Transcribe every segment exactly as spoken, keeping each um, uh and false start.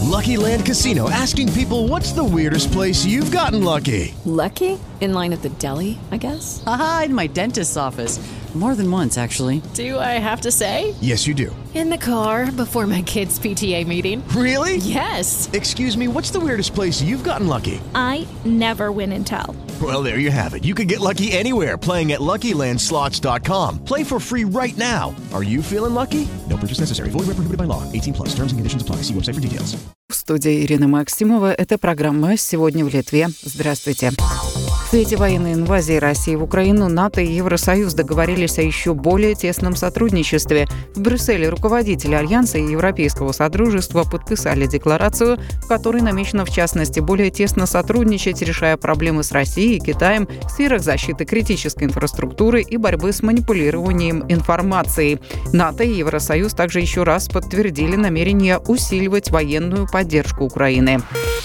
Lucky Land Casino, asking people, what's the weirdest place you've gotten lucky? Lucky? In line at the deli, I guess? Aha, in my dentist's office. More than once, actually. Do I have to say? Yes, you do. In the car before my kids' P T A meeting. Really? Yes. Excuse me, what's the weirdest place you've gotten lucky? I never win and tell. Well, there you have it. You can get lucky anywhere, playing at Lucky Land Slots dot com. Play for free right now. Are you feeling lucky? No purchase necessary. Void where prohibited by law. eighteen plus. Terms and conditions apply. See website for details. В студии Ирина Максимова. Это программа «Сегодня в Литве». Здравствуйте. В свете военной инвазии России в Украину НАТО и Евросоюз договорились о еще более тесном сотрудничестве. В Брюсселе руководители Альянса и Европейского Содружества подписали декларацию, в которой намечено, в частности, более тесно сотрудничать, решая проблемы с Россией и Китаем в сферах защиты критической инфраструктуры и борьбы с манипулированием информацией. НАТО и Евросоюз также еще раз подтвердили намерение усиливать военную поддержку Украины.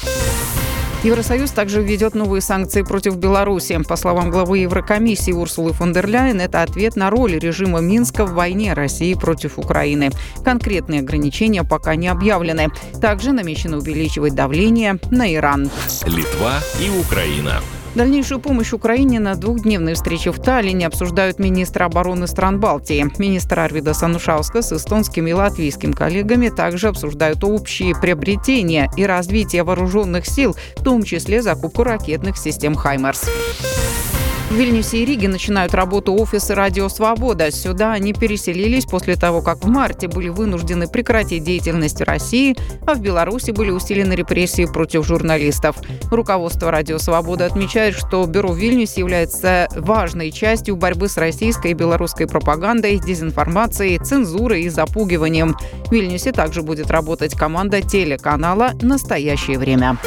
Евросоюз также введет новые санкции против Беларуси. По словам главы Еврокомиссии Урсулы фон дер Ляйен, это ответ на роль режима Минска в войне России против Украины. Конкретные ограничения пока не объявлены. Также намечено увеличивать давление на Иран. Литва и Украина. Дальнейшую помощь Украине на двухдневной встрече в Таллине обсуждают министры обороны стран Балтии. Министр Арвидас Анушаускас с эстонским и латвийским коллегами также обсуждают общие приобретения и развитие вооруженных сил, в том числе закупку ракетных систем «Хаймарс». В Вильнюсе и Риге начинают работу офисы «Радио Свобода». Сюда они переселились после того, как в марте были вынуждены прекратить деятельность в России, а в Беларуси были усилены репрессии против журналистов. Руководство «Радио Свобода» отмечает, что бюро в Вильнюсе является важной частью борьбы с российской и белорусской пропагандой, дезинформацией, цензурой и запугиванием. В Вильнюсе также будет работать команда телеканала «Настоящее время».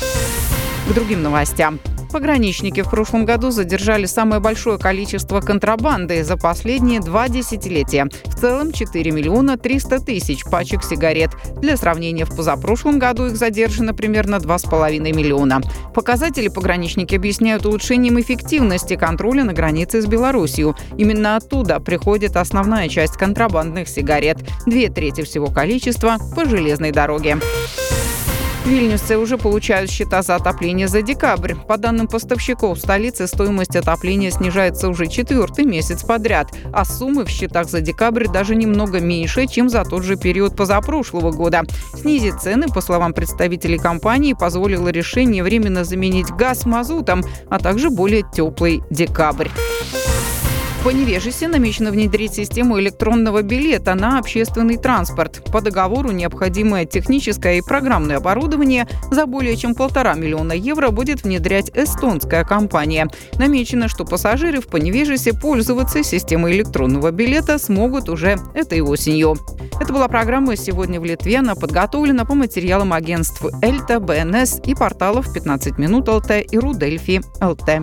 К другим новостям. Пограничники в прошлом году задержали самое большое количество контрабанды за последние два десятилетия. В целом четыре миллиона триста тысяч пачек сигарет. Для сравнения, в позапрошлом году их задержано примерно два с половиной миллиона. Показатели пограничники объясняют улучшением эффективности контроля на границе с Беларусью. Именно оттуда приходит основная часть контрабандных сигарет. Две трети всего количества по железной дороге. Вильнюсцы уже получают счета за отопление за декабрь. По данным поставщиков, в столице стоимость отопления снижается уже четвертый месяц подряд, а суммы в счетах за декабрь даже немного меньше, чем за тот же период позапрошлого года. Снизить цены, по словам представителей компании, позволило решение временно заменить газ мазутом, а также более теплый декабрь. В Поневежесе намечено внедрить систему электронного билета на общественный транспорт. По договору необходимое техническое и программное оборудование за более чем полтора миллиона евро будет внедрять эстонская компания. Намечено, что пассажиры в Поневежесе пользоваться системой электронного билета смогут уже этой осенью. Это была программа «Сегодня в Литве». Она подготовлена по материалам агентств Эльта, БНС и порталов пятнадцать минут ЛТ и Рудельфи ЛТ.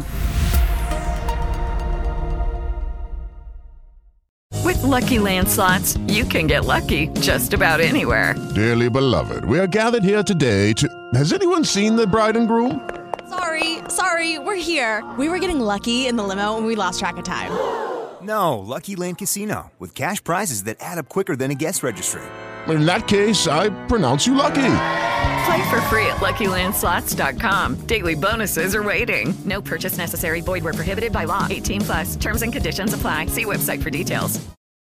With Lucky Land Slots, you can get lucky just about anywhere. Dearly beloved, we are gathered here today to... Has anyone seen the bride and groom? Sorry, sorry, we're here. We were getting lucky in the limo and we lost track of time. No, Lucky Land Casino, with cash prizes that add up quicker than a guest registry. In that case, I pronounce you lucky. Play for free at Lucky Land Slots dot com. Daily bonuses are waiting. No purchase necessary. Void where prohibited by law. eighteen plus. Terms and conditions apply. See website for details.